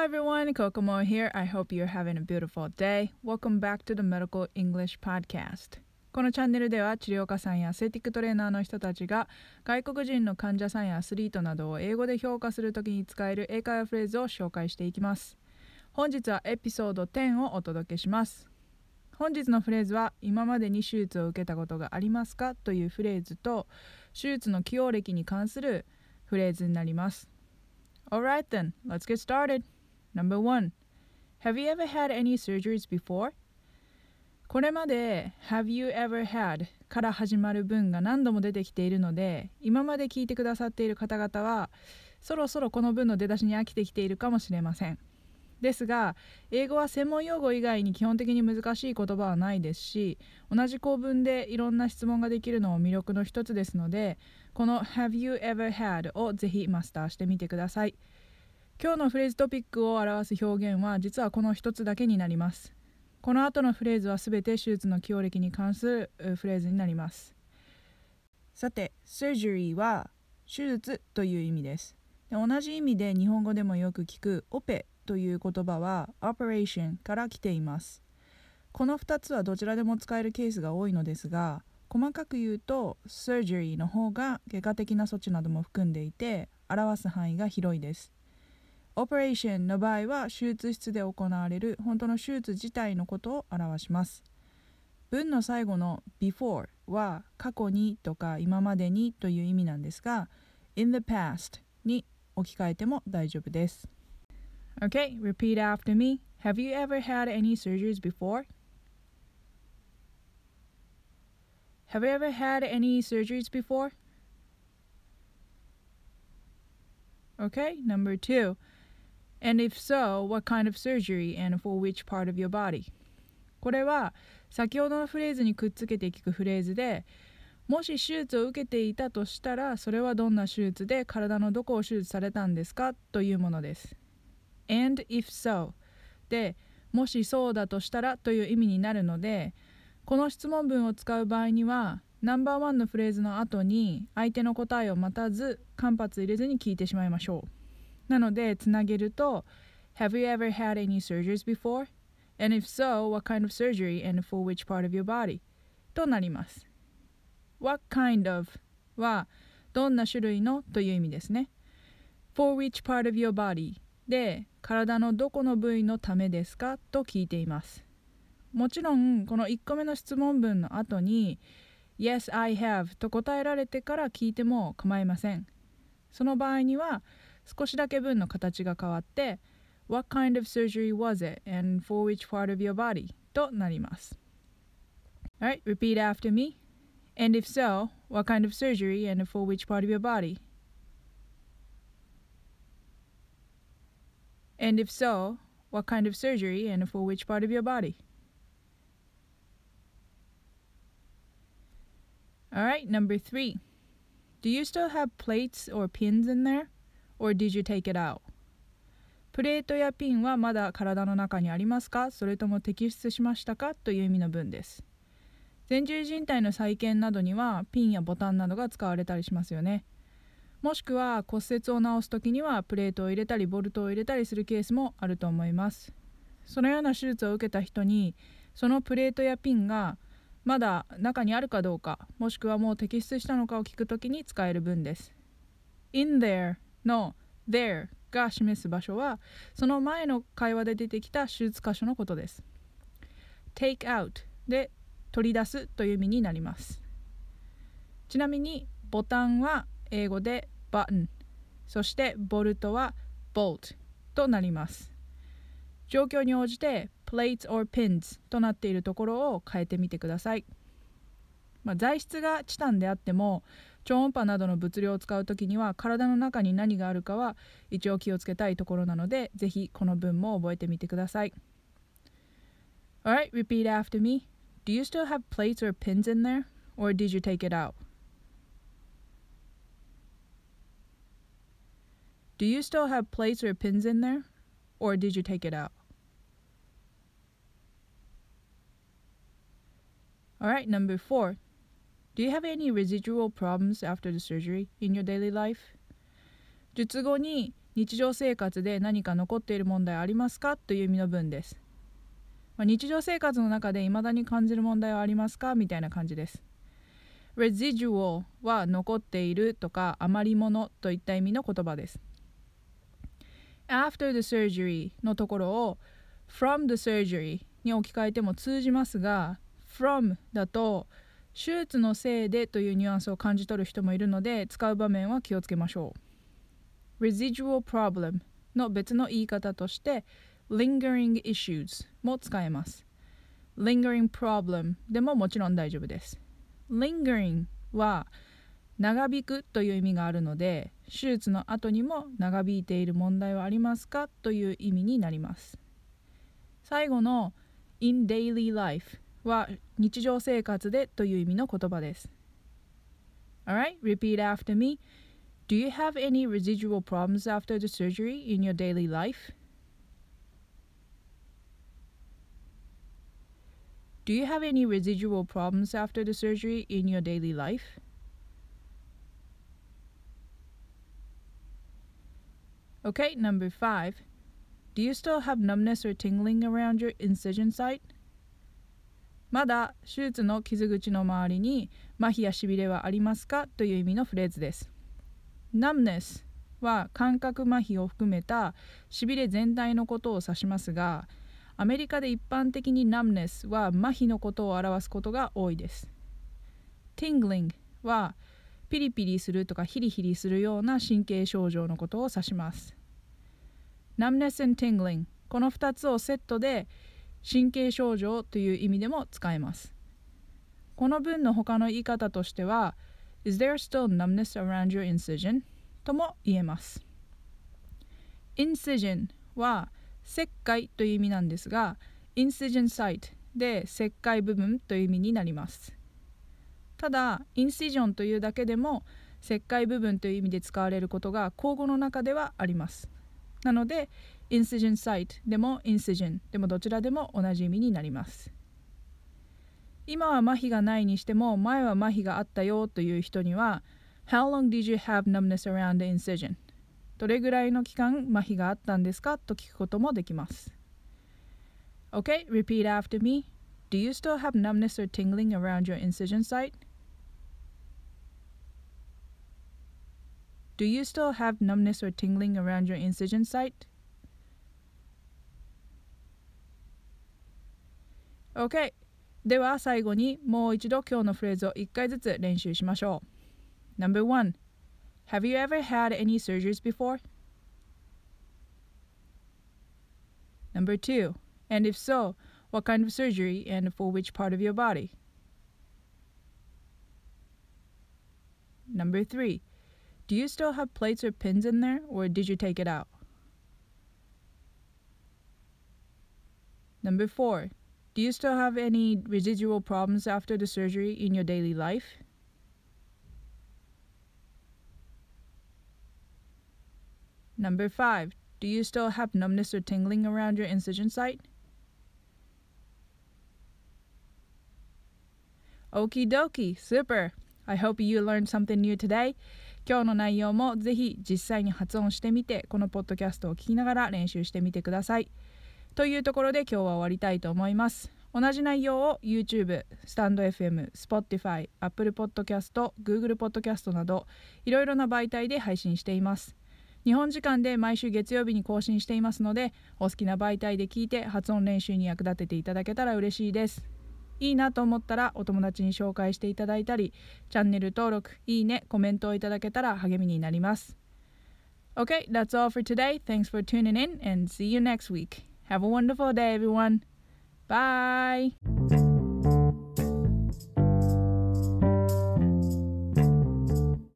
Hello everyone, Kokomo here. I hope you're having a beautiful day. Welcome back to the Medical English Podcast. このチャンネルでは治療家さんやアスレティックトレーナーの人たちが外国人の患者さんやアスリートなどを英語で評価するときに使える英会話フレーズを紹介していきます。本日はエピソード10をお届けします。本日のフレーズは今までに手術を受けたことがありますかというフレーズと手術の起用歴に関するフレーズになります。Alright then, let's get started. Number 1. Have you ever had any surgeries before? これまで Have you ever had から始まる文が何度も出てきているので、今まで聞いてくださっている方々はそろそろこの文の出だしに飽きてきているかもしれません。ですが、英語は専門用語以外に基本的に難しい言葉はないですし、同じ構文でいろんな質問ができるのも魅力の一つですので、この Have you ever had をぜひマスターしてみてください。今日のフレーズトピックを表す表現は実はこの一つだけになります。この後のフレーズはすべて手術の起用歴に関するフレーズになります。さて、surgery は手術という意味です。同じ意味で日本語でもよく聞くオペという言葉は operation から来ています。この2つはどちらでも使えるケースが多いのですが、細かく言うと surgery の方が外科的な措置なども含んでいて表す範囲が広いです。オペレーションの場合は手術室で行われる本当の手術自体のことを表します。文の最後の before は過去にとか今までにという意味なんですが、in the past に置き換えても大丈夫です。Okay, repeat after me. Have you ever had any surgeries before? Have you ever had any surgeries before? Okay, number 2.And if so, what kind of surgery and for which part of your body? これは先ほどのフレーズにくっつけて聞くフレーズで、もし手術を受けていたとしたら、それはどんな手術で体のどこを手術されたんですかというものです。And if so で、もしそうだとしたらという意味になるので、この質問文を使う場合には、ナンバーワンのフレーズの後に相手の答えを待たず、間髪入れずに聞いてしまいましょう。なのでつなげると Have you ever had any surgeries before? And if so, what kind of surgery and for which part of your body? となります。What kind of はどんな種類のという意味ですね。For which part of your body で体のどこの部位のためですかと聞いています。もちろんこの1個目の質問文の後に Yes, I have と答えられてから聞いても構いません。その場合には少しだけ文の形が変わって What kind of surgery was it and for which part of your body? となります。Alright, repeat after me. And if so, what kind of surgery and for which part of your body? And if so, what kind of surgery and for which part of your body? Alright, number 3. Do you still have plates or pins in there?Or did you take it out? プレートやピンはまだ体の中にありますか？それとも摘出しましたか？という意味の文です。前十字靭帯の再建などにはピンやボタンなどが使われたりしますよね。もしくは骨折を治すときにはプレートを入れたりボルトを入れたりするケースもあると思います。そのような手術を受けた人にそのプレートやピンがまだ中にあるかどうか、もしくはもう摘出したのかを聞くときに使える文です。In thereの there が示す場所はその前の会話で出てきた手術箇所のことです。take out で取り出すという意味になります。ちなみにボタンは英語で button、 そしてボルトは bolt となります。状況に応じて plates or pins となっているところを変えてみてください。材質がチタンであっても超音波などの物量を使うときには体の中に何があるかは一応気をつけたいところなので、ぜひこの文も覚えてみてください。Alright, repeat after me. Do you still have plates or pins in there? Or did you take it out? Do you still have plates or pins in there? Or did you take it out? Alright, number 4.Do you have any residual problems after the surgery in your daily life? 術後に日常生活で何か残っている問題はありますかという意味の文です。日常生活の中で未だに感じる問題はありますかみたいな感じです。residual は残っているとか余り物といった意味の言葉です。after the surgery のところを from the surgery に置き換えても通じますが、from だと手術のせいでというニュアンスを感じ取る人もいるので、使う場面は気をつけましょう。residual problem の別の言い方としてlingering issues も使えます。lingering problem でももちろん大丈夫です。lingering は長引くという意味があるので、手術の後にも長引いている問題はありますかという意味になります。最後の in daily life は日常生活でという意味の言葉です。Alright, repeat after me. Do you have any residual problems after the surgery in your daily life? Do you have any residual problems after the surgery in your daily life? Okay, number 5. Do you still have numbness or tingling around your incision site? まだ手術の傷口の周りに麻痺やしびれはありますかという意味のフレーズです。numbness は感覚麻痺を含めたしびれ全体のことを指しますが、アメリカで一般的に numbness は麻痺のことを表すことが多いです。tingling はピリピリするとかヒリヒリするような神経症状のことを指します。numbness and tingling この2つをセットで神経症状という意味でも使えます。この文の他の言い方としては Is there still numbness around your incision? とも言えます。incision は切開という意味なんですが、incision site で切開部分という意味になります。ただ、incision というだけでも切開部分という意味で使われることが口語の中ではあります。なので、incision site でも incision でもどちらでも同じ意味になります。今は麻痺がないにしても前は麻痺があったよという人には How long did you have numbness around the incision? どれぐらいの期間麻痺があったんですかと聞くこともできます。Okay, repeat after me. Do you still have numbness or tingling around your incision site? Do you still have numbness or tingling around your incision site? Okay. では最後にもう一度今日のフレーズを1回ずつ練習しましょう。Number 1. Have you ever had any surgeries before? Number 2. And if so, what kind of surgery and for which part of your body? Number 3. Do you still have plates or pins in there, or did you take it out? Number 4. Do you still have any residual problems after the surgery in your daily life? Number 5. Do you still have numbness or tingling around your incision site? Okie dokie, super! I hope you learned something new today. 今日の内容もぜひ実際に発音してみて、このポッドキャストを聞きながら練習してみてください。というところで今日は終わりたいと思います。同じ内容を YouTube、スタンド FM、Spotify、Apple Podcast、Google Podcast などいろいろな媒体で配信しています。日本時間で毎週月曜日に更新していますので、お好きな媒体で聞いて発音練習に役立てていただけたら嬉しいです。いいなと思ったらお友達に紹介していただいたり、チャンネル登録、いいね、コメントをいただけたら励みになります。Okay, that's all for today. Thanks for tuning in and see you next week. Have a wonderful day, everyone. Bye!